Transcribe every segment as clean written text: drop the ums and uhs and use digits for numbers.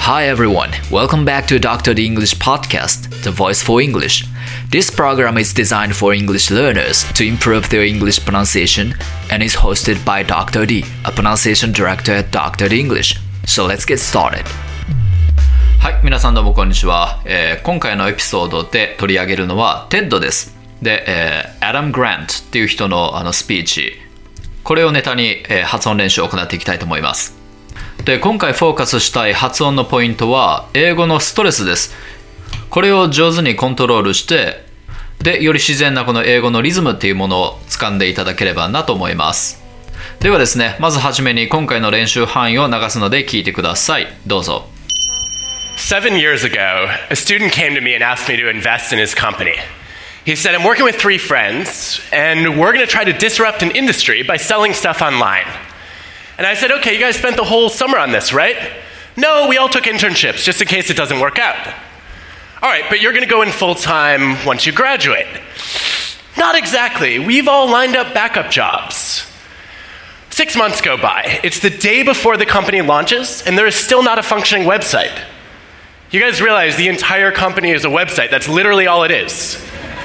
Hi everyone, welcome back to Dr. D English Podcast, the voice for English. This program is designed for English learners to improve their English pronunciation and is hosted by Dr. D, a pronunciation director at Dr. D English. So let's get started. はい、皆さんどうもこんにちは。今回のエピソードで取り上げるのは TED です。で、Adam Grant っていう人のスピーチ、これをネタに、発音練習を行っていきたいと思います。で、今回フォーカスしたい発音のポイントは英語のストレスです。これを上手にコントロールして、で、より自然なこの英語のリズムっていうものを掴んでいただければなと思います。ではですね、まずはじめに今回の練習範囲を流すので聞いてください。どうぞ。 7 years ago, a student came to me and asked me to invest in his company. He said, I'm working with 3 friends, and we're going to try to disrupt an industry by selling stuff online. And I said, okay, you guys spent the whole summer on this, right? No, we all took internships just in case it doesn't work out. All right, but you're going to go in full-time once you graduate. Not exactly. We've all lined up backup jobs. 6 months go by. It's the day before the company launches, and there is still not a functioning website. You guys realize the entire company is a website. That's literally all it is.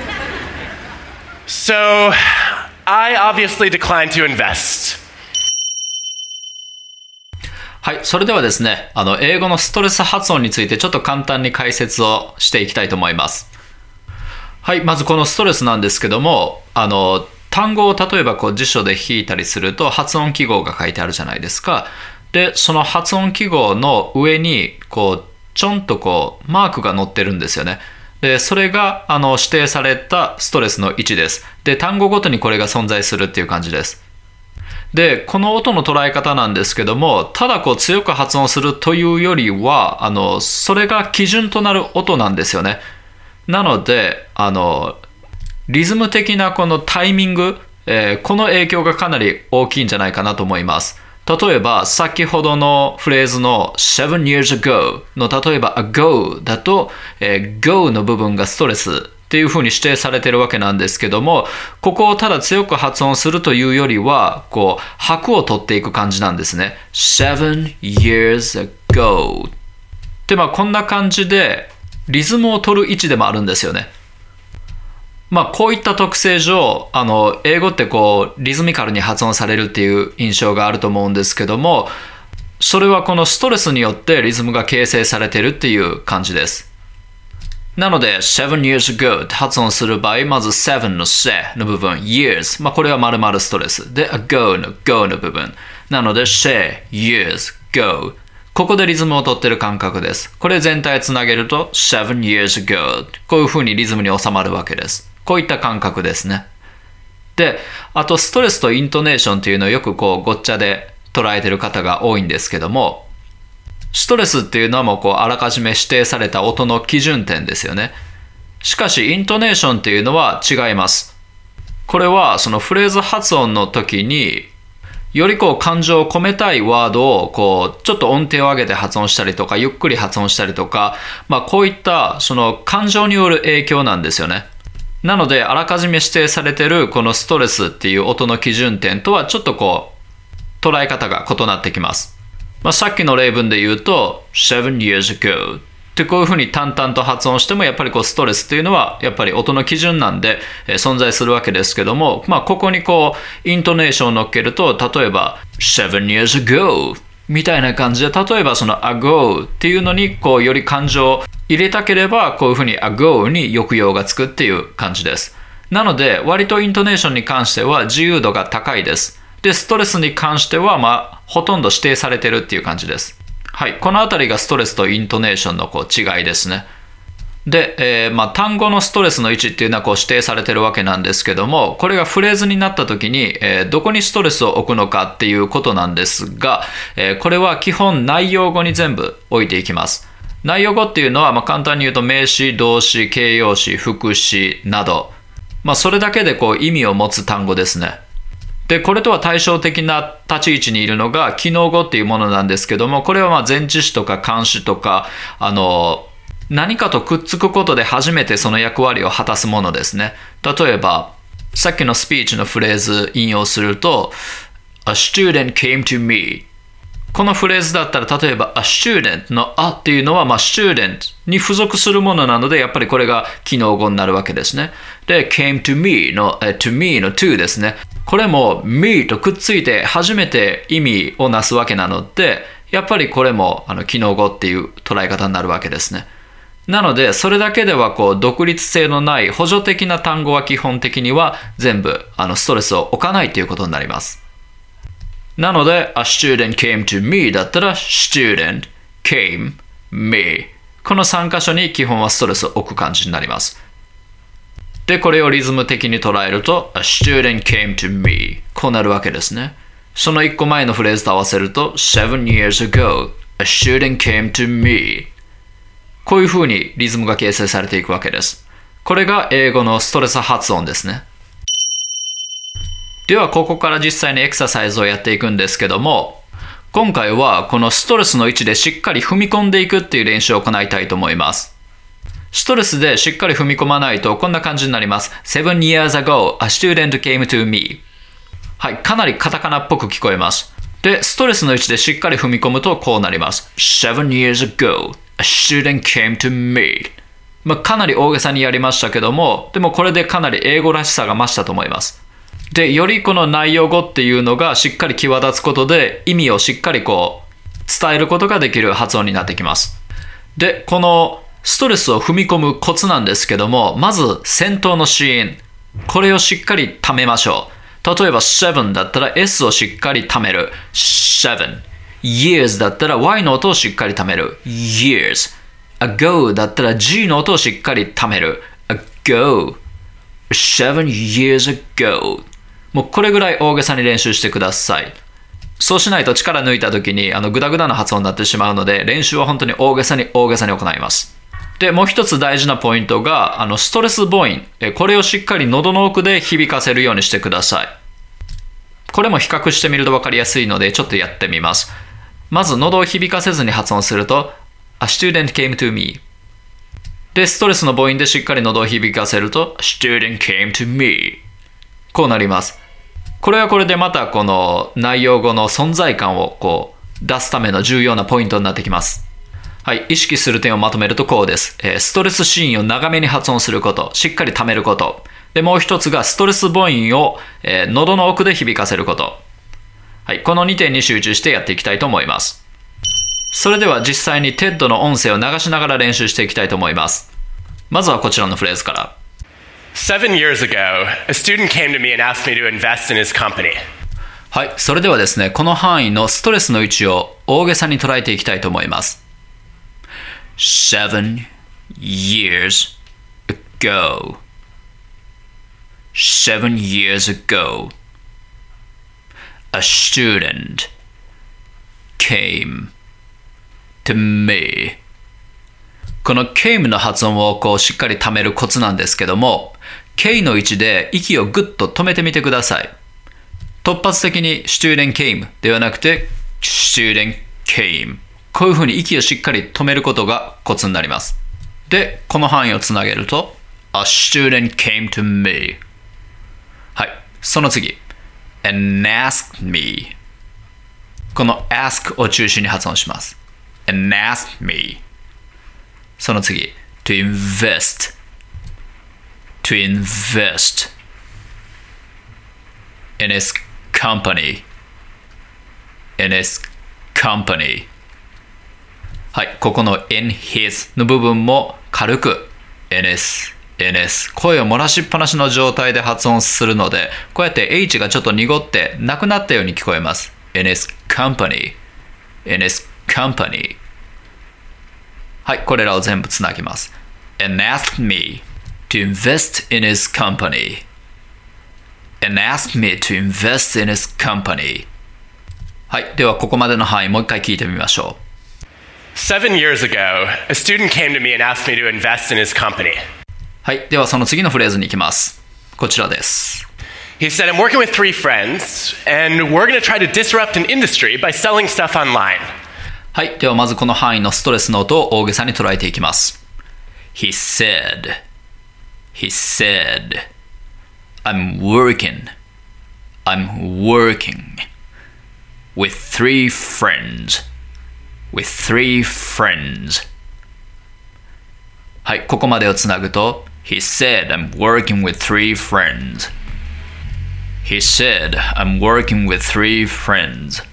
So, I obviously declined to invest. はい、それではですね、英語のストレス発音についてちょっと簡単に解説をしていきたいと思います。はい、まずこのストレスなんですけども、単語を例えば辞書で引いたりすると発音記号が書いてあるじゃないですか。で、その発音記号の上にちょんとマークが載ってるんですよね。で、それが指定されたストレスの位置です。で、単語ごとにこれが存在するっていう感じです。で、この音の捉え方なんですけども、ただ強く発音するというよりは、それが基準となる音なんですよね。なので、リズム的なこのタイミング、この影響がかなり大きいんじゃないかなと思います。例えば、先ほどのフレーズの7 years ago の例えば ago だと、go の部分がストレスっていう風に指定されているわけなんですけども、ここをただ強く発音するというよりは、拍を取っていく感じなんですね。7 years ago で、こんな感じでリズムを取る位置でもあるんですよね。こういった特性上、英語ってリズミカルに発音されるっていう印象があると思うんですけども、それはこのストレスによってリズムが形成されているっていう感じです。なので、7 years ago って発音する場合、まず7のせの部分、years、これは丸々ストレス。で、ago の go の部分。なので、say, years, go。ここでリズムを取ってる感覚です。これ全体つなげると、7 years ago。こういう風にリズムに収まるわけです。こういった感覚ですね。で、あとストレスとイントネーションっていうのをよくごっちゃで捉えてる方が多いんですけども、ストレスっていうのはもうあらかじめ指定された音の基準点ですよね。しかしイントネーションっていうのは違います。これはそのフレーズ発音の時により感情を込めたいワードをちょっと音程を上げて発音したりとかゆっくり発音したりとか、こういったその感情による影響なんですよね。なのであらかじめ指定されているこのストレスっていう音の基準点とはちょっと捉え方が異なってきます。さっきの例文で言うと7 years ago ってこういうふうに淡々と発音してもやっぱりストレスっていうのはやっぱり音の基準なんで、存在するわけですけども、ここにイントネーションを乗っけると例えば7 years ago みたいな感じで、例えばその ago っていうのにより感情を入れたければこういうふうに ago に抑揚がつくっていう感じです。なので割とイントネーションに関しては自由度が高いです。で、ストレスに関してはほとんど指定されてるっていう感じです。はい、このあたりがストレスとイントネーションの違いですね。で、単語のストレスの位置っていうのは指定されてるわけなんですけども、これがフレーズになった時に、どこにストレスを置くのかっていうことなんですが、これは基本内容語に全部置いていきます。内容語っていうのは簡単に言うと名詞、動詞、形容詞、副詞など、それだけで意味を持つ単語ですね。で、これとは対照的な立ち位置にいるのが機能語っていうものなんですけども、これは前置詞とか冠詞とか何かとくっつくことで初めてその役割を果たすものですね。例えばさっきのスピーチのフレーズ引用すると A student came to me このフレーズだったら、例えば a student の a っていうのは、student に付属するものなので、やっぱりこれが機能語になるわけですね。で、came to me の to me の to ですね。これも me とくっついて初めて意味をなすわけなので、やっぱりこれも機能語っていう捉え方になるわけですね。なので、それだけでは独立性のない補助的な単語は基本的には全部ストレスを置かないということになります。なので、a student came to me だったら student came me この3箇所に基本はストレスを置く感じになります。で、これをリズム的に捉えると a student came to me こうなるわけですね。その1個前のフレーズと合わせると 7 years ago a student came to me こういう風にリズムが形成されていくわけです。これが英語のストレス発音ですね。ではここから実際にエクササイズをやっていくんですけども、今回はこのストレスの位置でしっかり踏み込んでいくっていう練習を行いたいと思います。ストレスでしっかり踏み込まないとこんな感じになります。7 years ago, a student came to me はい、かなりカタカナっぽく聞こえます。で、ストレスの位置でしっかり踏み込むとこうなります。7 years ago, a student came to me かなり大げさにやりましたけども、でもこれでかなり英語らしさが増したと思います。で、よりこの内容語っていうのがしっかり際立つことで意味をしっかり伝えることができる発音になってきます。で、このストレスを踏み込むコツなんですけども、まず先頭の子音、これをしっかり溜めましょう。例えば7だったら S をしっかり溜める。7。years だったら Y の音をしっかり溜める。years。ago だったら G の音をしっかり溜める。ago。7 years ago。もうこれぐらい大げさに練習してください。そうしないと力抜いた時にグダグダな発音になってしまうので、練習は本当に大げさに行います。で、もう一つ大事なポイントがストレス母音。これをしっかり喉の奥で響かせるようにしてください。これも比較してみると分かりやすいのでちょっとやってみます。まず喉を響かせずに発音すると A student came to me。で、ストレスの母音でしっかり喉を響かせると A student came to me。こうなります。これはこれでまたこの内容語の存在感を出すための重要なポイントになってきます。はい、意識する点をまとめるとこうです。ストレスシーンを長めに発音すること、しっかり溜めること。で、もう一つがストレス母音を、喉の奥で響かせること。はい、この2点に集中してやっていきたいと思います。それでは実際に TED の音声を流しながら練習していきたいと思います。まずはこちらのフレーズから。 7 years ago, a student came to me and asked me to invest in his company. はい、それではですね、この範囲のストレスの位置を大げさに捉えていきたいと思います。7 years ago. 7 years ago. A student came to me. この came の発音をしっかり溜めるコツなんですけども、K の位置で息をぐっと止めてみてください。突発的に student came ではなくて student came。こういうふうに息をしっかり止めることがコツになります。で、この範囲をつなげると A student came to me。 はい、その次 and asked me。 この ask を中心に発音します。 and asked me。 その次 to invest in his company。 はい、ここの in his の部分も軽く ns 声を漏らしっぱなしの状態で発音するので、こうやって H がちょっと濁ってなくなったように聞こえます。 in his company。 はい、これらを全部つなぎます。 and asked me to invest in his company。 はい、ではここまでの範囲もう一回聞いてみましょう。 7 years ago, a student came to me and asked me to invest in his company. はい、ではその次のフレーズに行きます。こちらです。 He said, I'm working with 3 friends, and we're going to try to disrupt an industry by selling stuff online. はい、ではまずこの範囲のストレスの音を大げさに捉えていきます。He said, I'm working. with three friends. with three friends. はい、ここまでをつなぐと He said I'm working with three friends. He said I'm working with three friends.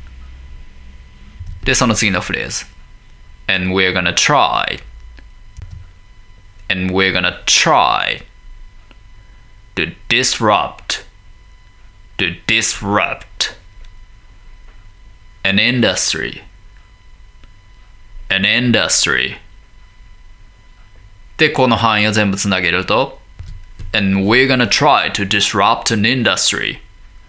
で、その次のフレーズ And we're gonna try. And we're gonna try to disrupt an industry. An industry. で、この範囲を全部つなげると And we're gonna try to disrupt an industry.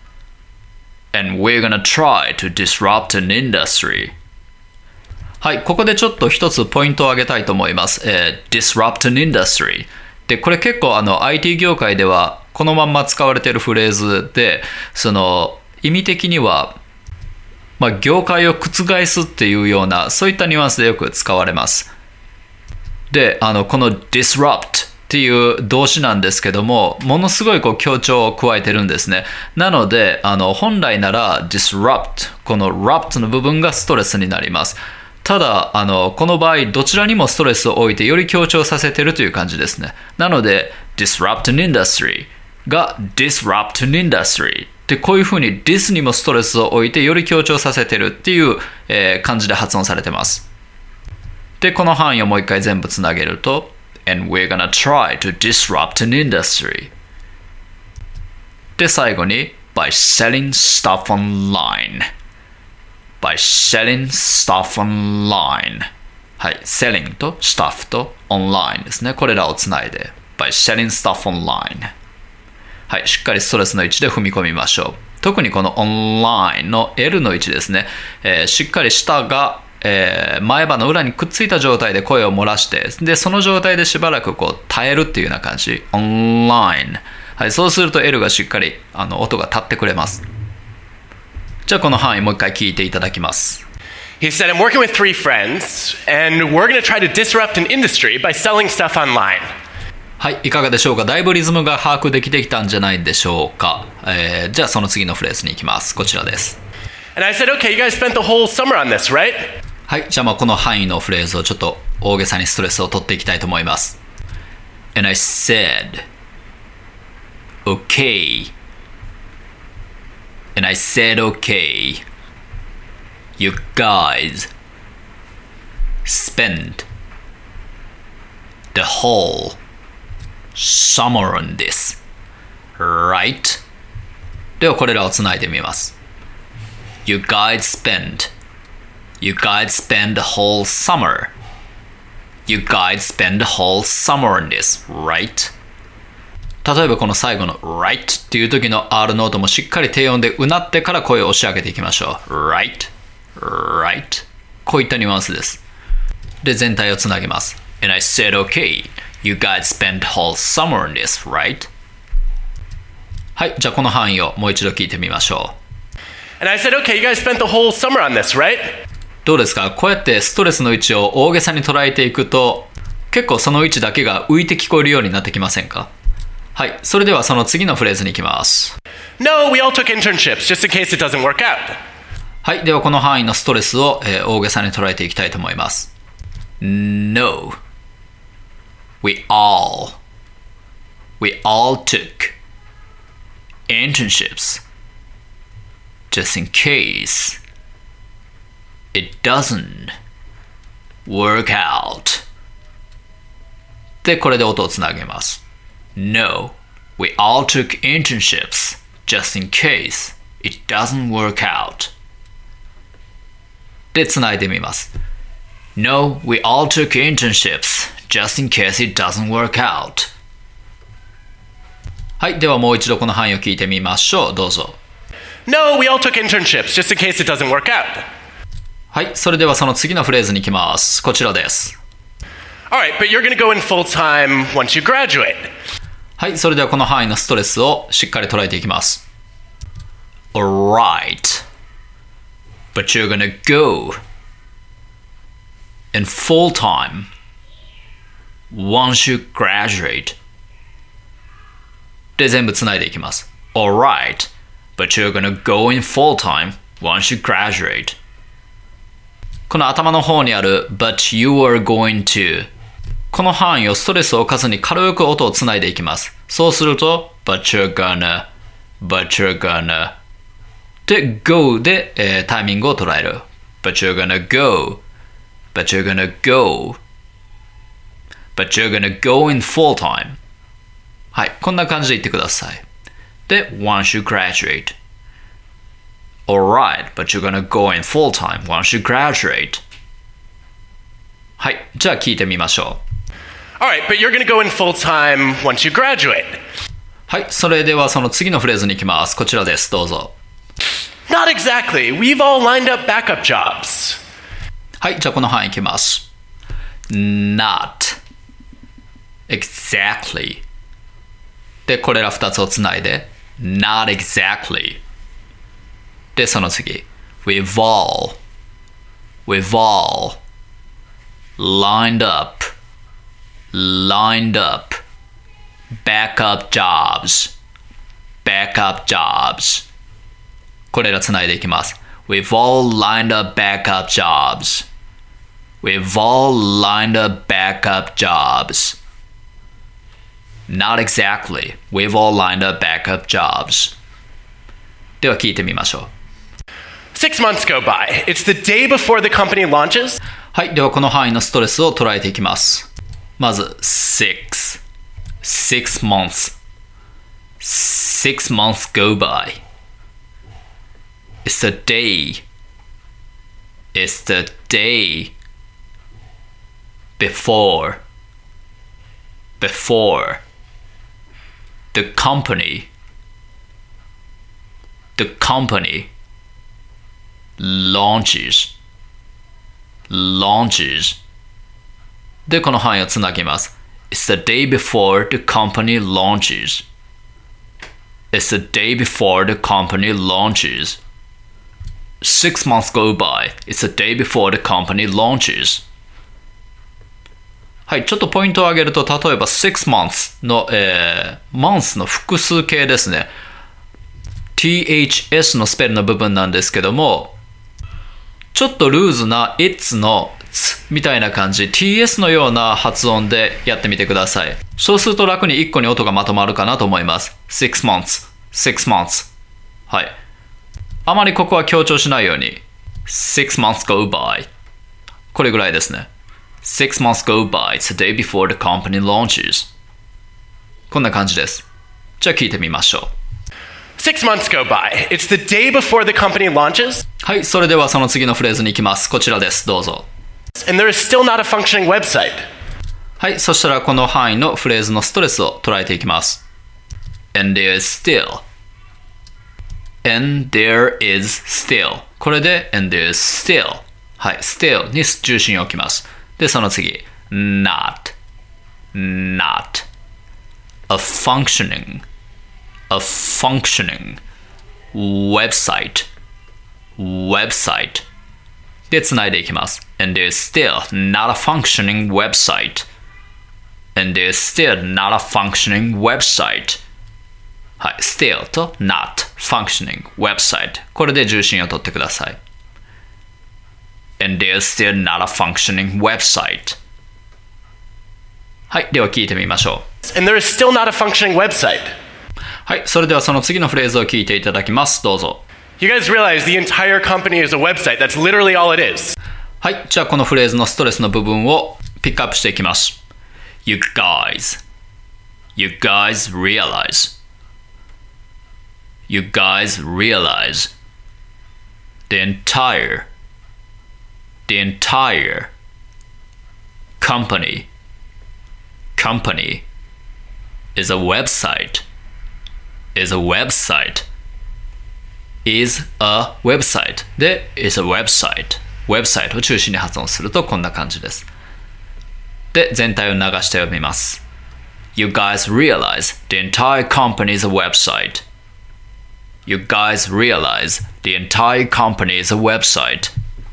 And we're gonna try to disrupt an industry. はい、ここでちょっと一つポイントを挙げたいと思います。disrupt an industry。で、これ結構IT 業界ではこのまんま使われているフレーズで、その意味的には、業界を覆すっていうような、そういったニュアンスでよく使われます。で、この disrupt っていう動詞なんですけども、ものすごい強調を加えてるんですね。なので、本来なら disrupt、この rupt の部分がストレスになります。ただこの場合どちらにもストレスを置いてより強調させてるという感じですね。なので disrupt an industry が disrupt an industry でこういうふうに dis にもストレスを置いてより強調させてるっていう、感じで発音されてます。でこの範囲をもう一回全部つなげると And we're gonna try to disrupt an industry で最後に by selling stuff online by selling stuff online はい、selling と stuff と online ですね。これらをつないで by selling stuff online はい、しっかりストレスの位置で踏み込みましょう。特にこの online の L の位置ですね、しっかり舌が、前歯の裏にくっついた状態で声を漏らしてでその状態でしばらく耐えるっていうような感じ online はい、そうすると L がしっかり音が立ってくれます。じゃあこの範囲もう一回聞いていただきます。 He said, I'm working with three friends, and we're going to try to disrupt an industry by selling stuff online. はい、いかがでしょうか。だいぶリズムが把握できてきたんじゃないでしょうか。じゃあその次のフレーズに行きます。こちらです。 And I said, okay, you guys spent the whole summer on this, right? はい、じゃあこの範囲のフレーズをちょっと大げさにストレスを取っていきたいと思います。And I said, okay.And I said, okay, you guys spent the whole summer on this, right? ではこれらをつないでみます。You guys spent the whole summer. You guys spent the whole summer on this, right?例えばこの最後の right っていう時の R ノートもしっかり低音でうなってから声を押し上げていきましょう。right, right こういったニュアンスです。で全体をつなげます。And I said okay, you guys spent whole summer on this, right? はい、じゃあこの範囲をもう一度聞いてみましょう。And I said okay, you guys spent the whole summer on this, right? どうですか？こうやってストレスの位置を大げさに捉えていくと結構その位置だけが浮いて聞こえるようになってきませんか？はい、それではその次のフレーズに行きます。 No, we all took internships just in case it doesn't work out. はい、ではこの範囲のストレスを、大げさに捉えていきたいと思います。No, we all took internships just in case it doesn't work out. で、これで音をつなげます。No, we all took internships just in case it doesn't work out. で、つないでみます。No, we all took internships just in case it doesn't work out. はい、ではもう一度この範囲を聞いてみましょう。どうぞ。 No, we all took internships just in case it doesn't work out. はい、それではその次のフレーズに行きます。こちらです。 Alright, but you're going to go in full time once you graduate. はい、それではこの範囲のストレスをしっかり捉えていきます。Alright, but you're gonna go in full time once you graduate. で、全部つないでいきます。Alright, but you're gonna go in full time once you graduate。この頭の方にある But you are going to この範囲をストレスを置かずに軽く音をつないでいきます。そうすると But you're gonna But you're gonna で Go で、タイミングを捉える。But you're gonna go But you're gonna go But you're gonna go in full time。 はい、こんな感じで言ってください。で Once you graduate Alright, but you're gonna go in full time once you graduate。 はい、じゃあ聞いてみましょう。 All right, but you're going to go in full time once you graduate. はい、それではその次のフレーズに行きます。こちらです、どうぞ。 Not exactly. We've all lined up backup jobs. はい、じゃあこの範囲行きます。 Not exactly で、これら2つをつないで Not exactly で、その次 We've all lined up backup jobs これらつないでいきます。 We've all lined up backup jobs Not exactly. We've all lined up backup jobs. では聞いてみましょう。 6 months go by. It's the day before the company launches. はい、ではこの範囲のストレスを捉えていきます。まず 6 months 6 months go by. It's the day before the company launches で、この範囲をつなぎます。 It's the day before the company launches. 6 months go by. It's the day before the company launches. はい、ちょっとポイントを挙げると、例えば6 months の、months の複数形ですね。THS のスペルの部分なんですけども、ちょっとルーズな It's のつみたいな感じ、TS のような発音でやってみてください。そうすると楽に1個に音がまとまるかなと思います。6 months。はい。あまりここは強調しないように。6 months go by。これぐらいですね。6 months go by. It's the day before the company launches. こんな感じです。じゃあ聞いてみましょう。 6 months go by. It's the day before the company launches. はい、それではその次のフレーズに行きます。こちらです。どうぞ。 And there is still not a functioning website. はい、そしたらこの範囲のフレーズのストレスを捉えていきます。And there is still これで and there is still はい、still に重心を置きます。で、その次 not a functioning website でつないでいきます。 And there's still not a functioning website はい、still と not functioning website これで重心を取ってください。 And there's still not a functioning website。 はい、では聞いてみましょう。 And there is still not a functioning website. はい、それではその次のフレーズを聞いていただきます。どうぞ。 You guys realize the entire company is a website. That's literally all it is. はい、じゃあこのフレーズのストレスの部分をピックアップしていきます。 You guys realize the entire company is a website is a website で is a website を中心に発音するとこんな感じです。で、全体を流して読みます。 You guys realize the entire company is a website You guys realize the entire company is a website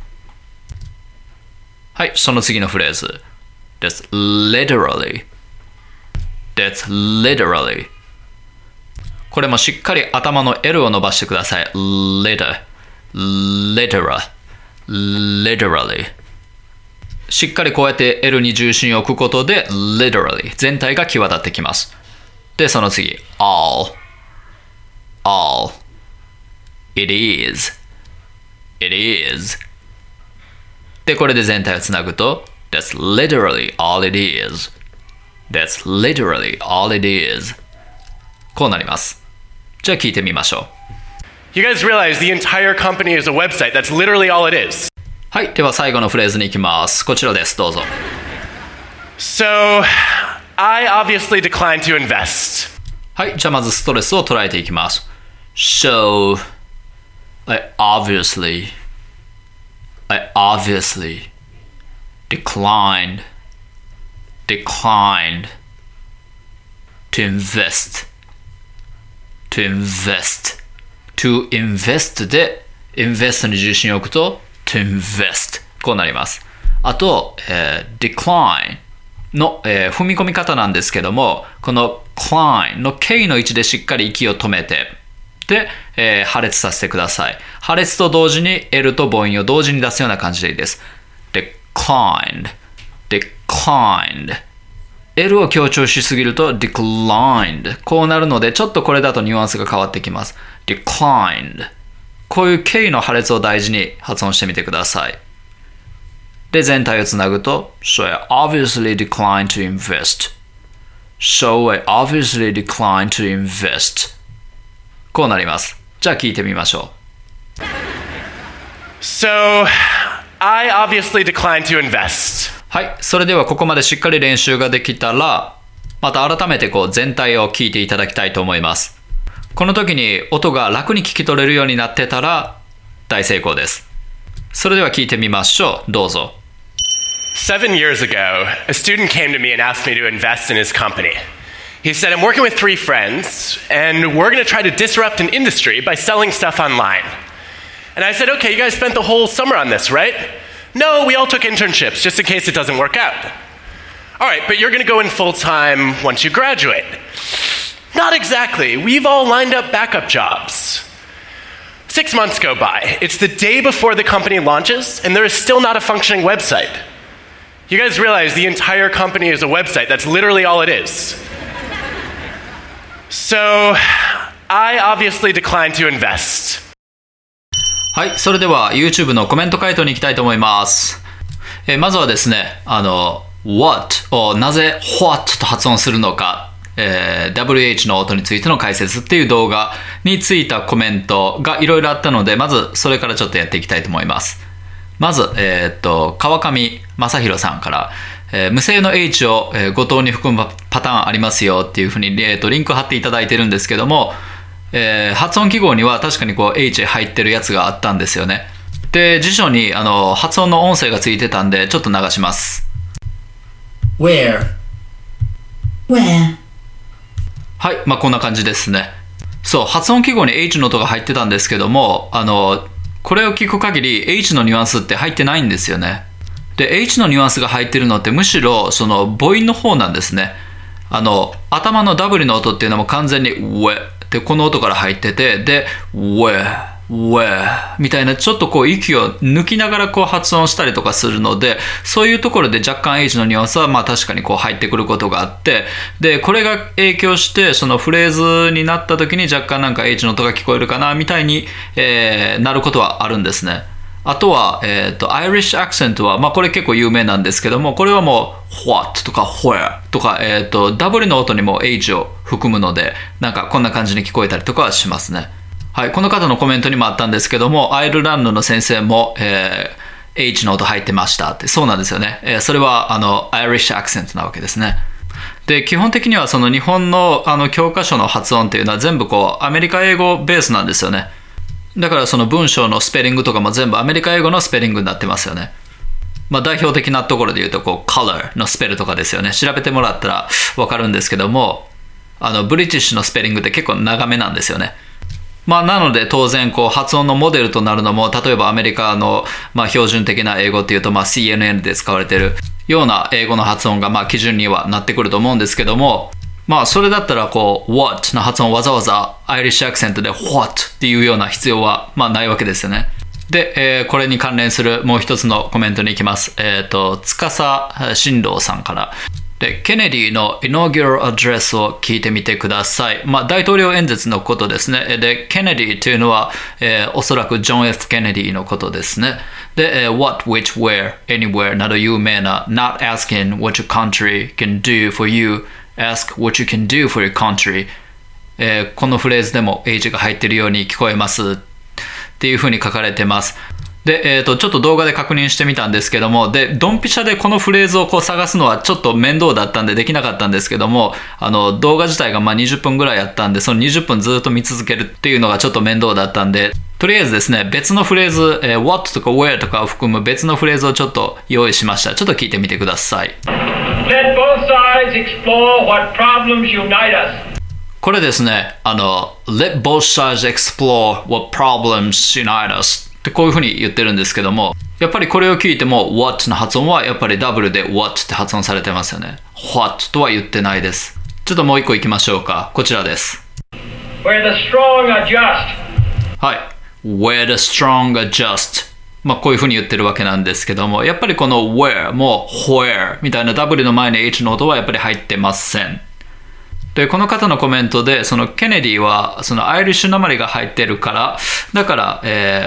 はい、その次のフレーズです。 literally これもしっかり頭の L を伸ばしてください。 literally literally しっかりこうやって L に重心を置くことで literally 全体が際立ってきます。で、その次 all it is で、これで全体をつなぐと That's literally all it is こうなります。じゃあ聞いてみましょう。 You guys realize the entire company is a website. That's literally all it is. はい、では最後のフレーズに行きます。こちらです、どうぞ。 So, I obviously declined to invest. はい、じゃあまずストレスを捉えていきます。So, I obviously declined to investで invest に重心を置くと to invest こうなります。あと、decline の、踏み込み方なんですけども、この climb の K の位置でしっかり息を止めてで、破裂させてください。破裂と同時に L と母音を同時に出すような感じでいいです。declined L を強調しすぎると declined こうなるのでちょっとこれだとニュアンスが変わってきます。 declined こういう K の破裂を大事に発音してみてください。で、全体をつなぐと So I obviously declined to invest こうなります。じゃあ聞いてみましょう。 So, I obviously declined to invest. はい、それではここまでしっかり練習ができたら、また改めてこう全体を聞いていただきたいと思います。この時に音が楽に聞き取れるようになってたら大成功です。それでは聞いてみましょう。どうぞ。 7 years ago, a student came to me and asked me to invest in his company. He said, I'm working with 3 friends, and we're going to try to disrupt an industry by selling stuff online. And I said, okay, you guys spent the whole summer on this, right? No, we all took internships just in case it doesn't work out. All right, but you're going to go in full-time once you graduate. Not exactly. We've all lined up backup jobs. 6 months go by. It's the day before the company launches, and there is still not a functioning website. You guys realize the entire company is a website. That's literally all it is. So, I obviously declined to invest. はい、それでは YouTube のコメント回答に行きたいと思います。まずはですね、what をなぜ what と発音するのか、WH の音についての解説っていう動画についたコメントがいろいろあったので、まずそれからちょっとやっていきたいと思います。まず、川上正宏さんから、無声の H を誤答に含むパターンありますよっていうふうに、リンク貼っていただいてるんですけども、発音記号には確かにこう H 入ってるやつがあったんですよね。で、辞書に発音の音声がついてたんでちょっと流します。 Where はい、こんな感じですね。そう、発音記号に H の音が入ってたんですけども、これを聞く限り H のニュアンスって入ってないんですよね。で、H のニュアンスが入ってるのってむしろその母音の方なんですね。頭の W の音っていうのも完全に we でこの音から入ってて、で we みたいなちょっとこう息を抜きながらこう発音したりとかするので、そういうところで若干 H のニュアンスは確かにこう入ってくることがあって、でこれが影響してそのフレーズになった時に若干なんか H の音が聞こえるかなみたいに、なることはあるんですね。あとは、アイリッシュアクセントは、これ結構有名なんですけども、これはもう what とか where とか、W の音にも H を含むので、なんかこんな感じに聞こえたりとかはしますね。はい、この方のコメントにもあったんですけども、アイルランドの先生も、H の音入ってましたって、そうなんですよね。それはアイリッシュアクセントなわけですね。で、基本的にはその日本の教科書の発音っていうのは全部こうアメリカ英語ベースなんですよね。だからその文章のスペリングとかも全部アメリカ英語のスペリングになってますよね。代表的なところで言うとこう color のスペルとかですよね。調べてもらったら分かるんですけども、ブリティッシュのスペリングって結構長めなんですよね。なので当然こう発音のモデルとなるのも、例えばアメリカの標準的な英語っていうとCNN で使われているような英語の発音が基準にはなってくると思うんですけども、それだったらこう what の発音をわざわざアイリッシュアクセントで what っていうような必要はないわけですよね。 で、これに関連するもう一つのコメントに行きます。司新郎さんから。で、ケネディの Inaugural Address を聞いてみてください。大統領演説のことですね。で、ケネディというのは、おそらくジョン・ F ・ケネディのことですね。で、what, which, where, anywhere など有名な Not asking what your country can do for you, ask what you can do for your country、このフレーズでも H が入っているように聞こえますっていうふうに書かれてます。で、ちょっと動画で確認してみたんですけども、で、ドンピシャでこのフレーズをこう探すのはちょっと面倒だったんでできなかったんですけども、動画自体が20分ぐらいあったんで、その20分ずっと見続けるっていうのがちょっと面倒だったんで、とりあえずですね、別のフレーズ、what とか where とかを含む別のフレーズをちょっと用意しました。ちょっと聞いてみてください。 Let both sides explore what problems unite us. これですね、Let both sides explore what problems unite usってこういうふうに言ってるんですけども、やっぱりこれを聞いても what の発音はやっぱりダブルで what って発音されてますよね。what とは言ってないです。ちょっともう一個いきましょうか。こちらです。 Where the strong are just. はい。Where the strong are just。こういうふうに言ってるわけなんですけども、やっぱりこの where も where みたいな W の前に H の音はやっぱり入ってません。で、この方のコメントで、そのケネディはそのアイリッシュ訛りが入ってるから、だから、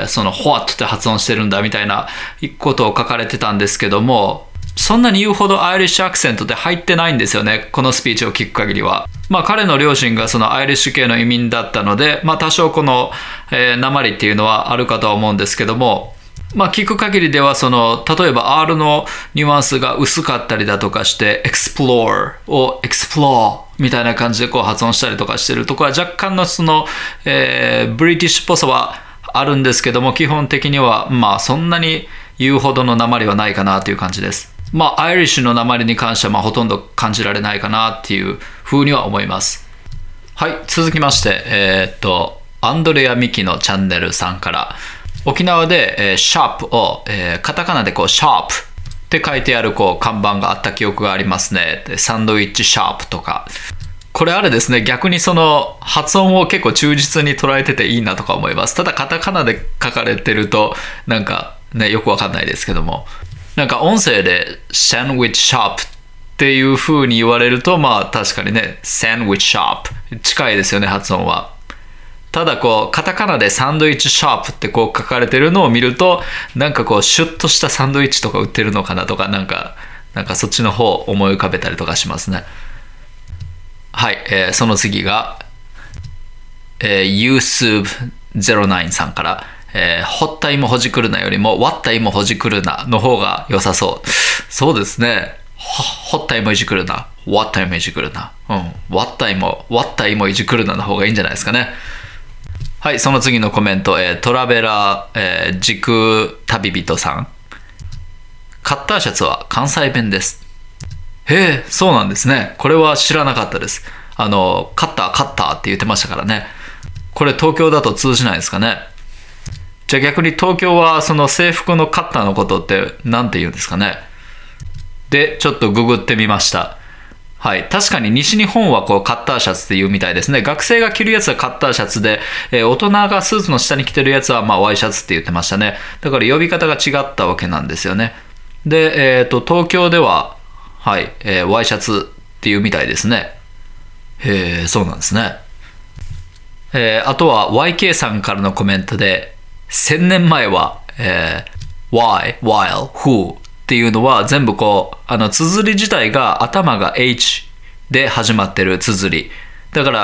その what って発音してるんだみたいなことを書かれてたんですけども、そんなに言うほどアイリッシュアクセントって入ってないんですよね、このスピーチを聞く限りは。彼の両親がそのアイリッシュ系の移民だったので、多少この、訛りっていうのはあるかとは思うんですけども、聞く限りではその例えば R のニュアンスが薄かったりだとかして explore を explore みたいな感じでこう発音したりとかしてるところは若干のその、ブリティッシュっぽさはあるんですけども、基本的にはそんなに言うほどの訛りはないかなという感じです。アイリッシュの訛りに関してはほとんど感じられないかなっていうふうには思います。はい、続きましてアンドレア・ミキのチャンネルさんから、沖縄で、シャープを、カタカナでこうシャープって書いてあるこう看板があった記憶がありますね。サンドイッチシャープとか。これあれですね、逆にその発音を結構忠実に捉えてていいなとか思います。ただカタカナで書かれてるとなんかね、よくわかんないですけども、なんか音声でサンドウィッチシャープっていう風に言われると確かにね、サンドウィッチシャープ近いですよね、発音は。ただこうカタカナでサンドイッチシャープってこう書かれてるのを見ると、なんかこうシュッとしたサンドイッチとか売ってるのかなとか、なんかそっちの方を思い浮かべたりとかしますね。はい、その次が、YouTube09 さんから、ほった芋ほじくるなよりも割った芋ほじくるなの方が良さそう。そうですね。ほった芋いじくるな、割った芋いじくるな、割った芋いじくるなの方がいいんじゃないですかね。はい、その次のコメント、トラベラー、時空旅人さん。カッターシャツは関西弁です。へえ、そうなんですね。これは知らなかったです。カッターって言ってましたからね。これ東京だと通じないですかね。じゃあ逆に東京はその制服のカッターのことって何て言うんですかね。で、ちょっとググってみました。はい。確かに西日本はこうカッターシャツって言うみたいですね。学生が着るやつはカッターシャツで、大人がスーツの下に着てるやつはワイシャツって言ってましたね。だから呼び方が違ったわけなんですよね。で、東京では、はい、ワイシャツっていうみたいですね。へえ、そうなんですね。あとは YK さんからのコメントで、1000年前は、why, while, whoっていうのは全部こう綴り自体が頭が H で始まってる綴りだから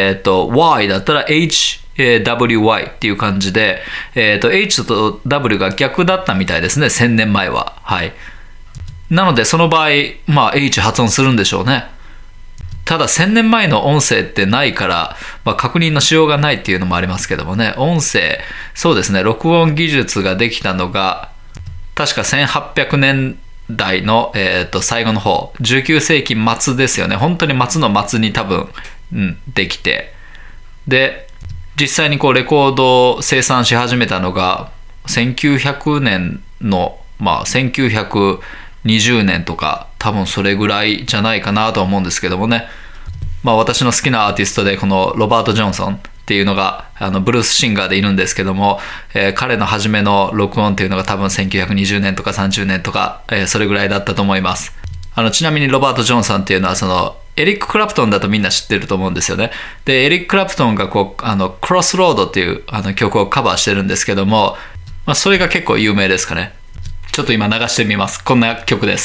、Y だったら HWY っていう感じで、H と W が逆だったみたいですね、1000年前は。はい。なのでその場合H 発音するんでしょうね。ただ1000年前の音声ってないから、確認のしようがないっていうのもありますけどもね。音声、そうですね、録音技術ができたのが確か1800年代の、最後の方、19世紀末ですよね。本当に末の末に多分、できて。で、実際にこうレコードを生産し始めたのが、1900年の、1920年とか、多分それぐらいじゃないかなと思うんですけどもね。私の好きなアーティストで、このロバート・ジョンソンってっていうのがブルースシンガーでいるんですけども、彼の初めの録音っていうのが多分1920年とか30年とか、それぐらいだったと思います。ちなみにロバート・ジョンさんっていうのはエリック・クラプトンだとみんな知ってると思うんですよね。でエリック・クラプトンがクロスロードっていう曲をカバーしてるんですけども、それが結構有名ですかね。ちょっと今流してみます。こんな曲です。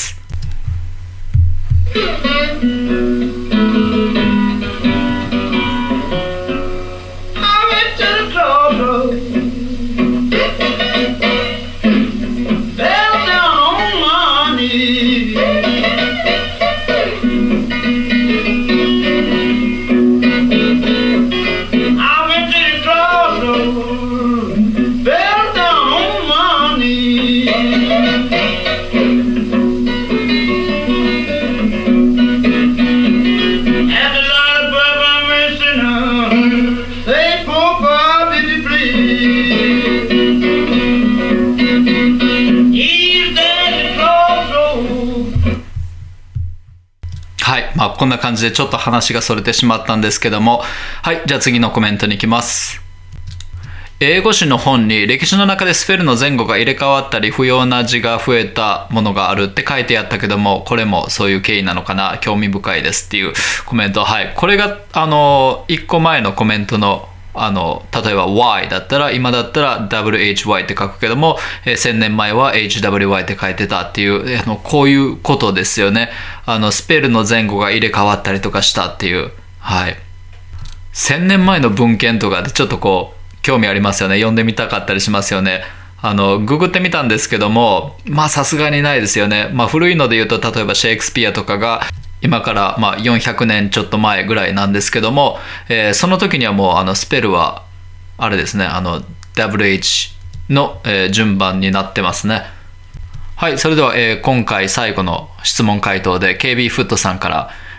こんな感じでちょっと話がそれてしまったんですけども、はい、じゃあ次のコメントに行きます。英語詞の本に歴史の中でスペルの前後が入れ替わったり不要な字が増えたものがあるって書いてあったけども、これもそういう経緯なのかな、興味深いですっていうコメント。はい、これが1個前のコメントの例えば Y だったら、今だったら WHY って書くけども、1000年前は HWY って書いてたっていう、こういうことですよね。スペルの前後が入れ替わったりとかしたっていう。はい。1000年前の文献とかでちょっと興味ありますよね。読んでみたかったりしますよね。ググってみたんですけども、さすがにないですよね。古いので言うと、例えばシェイクスピアとかが、今から400年ちょっと前ぐらいなんですけども、その時にはもうスペルはあれですね、WH の、順番になってますね。はい、それでは、今回最後の質問回答で KB フットさんから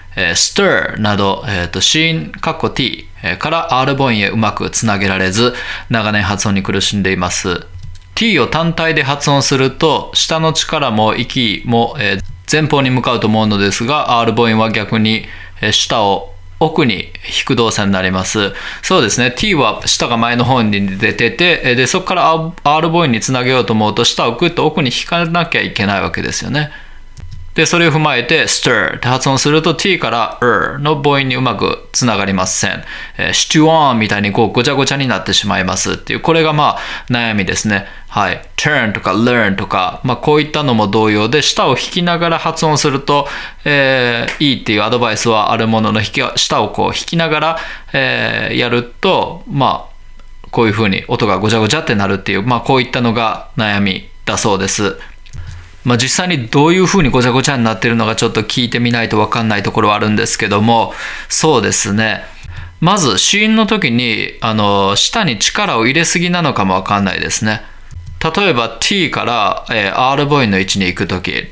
、stir など、子音t から R 母音へうまくつなげられず長年発音に苦しんでいます。 t を単体で発音すると下の力も息も、前方に向かうと思うのですが R 母音は逆に下を奥に引く動作になります。そうですね。t は下が前の方に出てて、でそこから R 母音につなげようと思うと下をグッと奥に引かなきゃいけないわけですよね。でそれを踏まえて stir って発音すると t から の母音にうまくつながりません。stew on みたいにごちゃごちゃになってしまいますっていう、これが悩みですね。はい。turn とか learn とか、こういったのも同様で、下を引きながら発音すると、いいっていうアドバイスはあるものの、下を引きながら、やると、こういうふうに音がごちゃごちゃってなるっていう、こういったのが悩みだそうです。実際にどういうふうにごちゃごちゃになっているのかちょっと聞いてみないと分かんないところはあるんですけども、そうですね。まず子音の時に下に力を入れすぎなのかも分かんないですね。例えば t から、R 母音の位置に行く時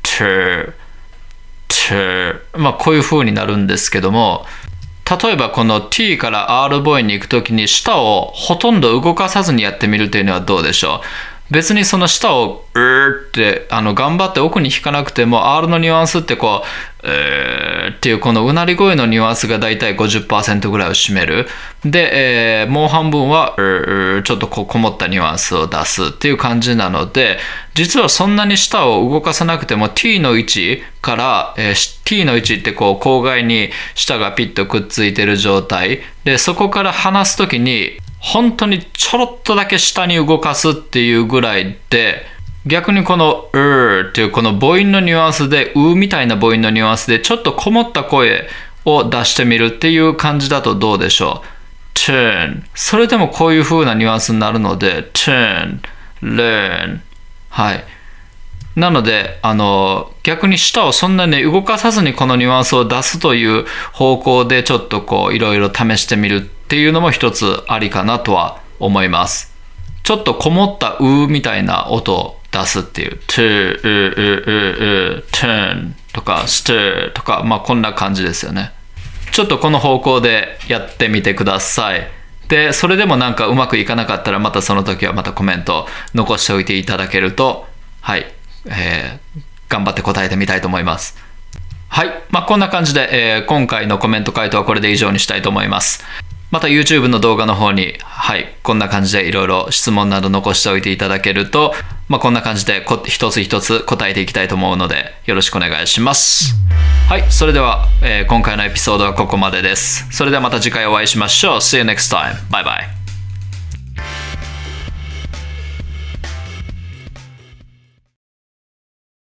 t こういうふうになるんですけども、例えばこの t から R 母音に行く時に下をほとんど動かさずにやってみるというのはどうでしょう。別にその下をって頑張って奥に引かなくても R のニュアンスってっていうこのうなり声のニュアンスがだいたい 50% ぐらいを占める。で、もう半分はちょっとこもったニュアンスを出すっていう感じなので、実はそんなに下を動かさなくても t の位置から、t の位置って口外に下がピッとくっついてる状態で、そこから離すときに本当にちょろっとだけ下に動かすっていうぐらいで、逆にこのっていうこの母音のニュアンスでみたいな母音のニュアンスでちょっとこもった声を出してみるっていう感じだとどうでしょう。 turn それでもこういう風なニュアンスになるので turn learn はい。なので逆に舌をそんなに動かさずにこのニュアンスを出すという方向でちょっといろいろ試してみるっていうのも一つありかなとは思います。ちょっとこもったみたいな音を出すっていう turn とか stir とかこんな感じですよね。ちょっとこの方向でやってみてください。でそれでもなんかうまくいかなかったらまたその時はまたコメント残しておいていただけるとはい頑張って答えてみたいと思います。はい、こんな感じで、今回のコメント回答はこれで以上にしたいと思います。 また YouTube の動画の方に、はい、こんな感じでいろいろ質問など残しておいていただけると、こんな感じで一つ一つ答えていきたいと思うので、よろしくお願いします。はい、それでは、今回のエピソードはここまでです。それではまた次回お会いしましょう。See you next time. Bye bye.